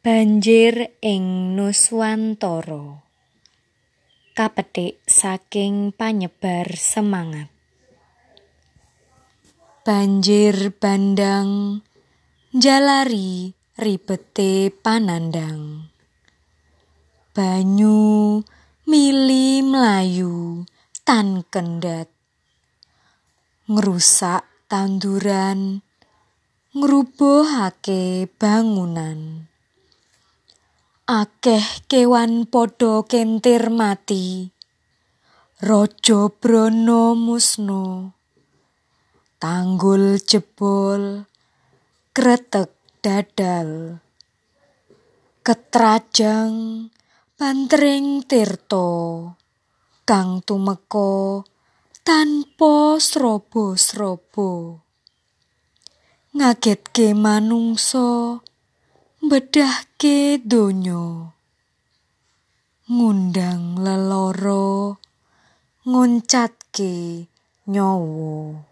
Banjir ing Nuswantara. Kapetik saking panyebar semangat. Banjir bandang njalari ribete panandang. Banyu mili mlayu tan kendhat. Ngrusak tanduran, ngrubuhake bangunan. Akeh kewan padha kentir mati. Raja brana musna. Tanggul jebol, kretek dadal. Ketrajang bantring tirta kang tumeka tanpa sraba-sraba. Ngagetke manungsa, mbedahke donya. Ngundang lelara, ngoncatke nyawa.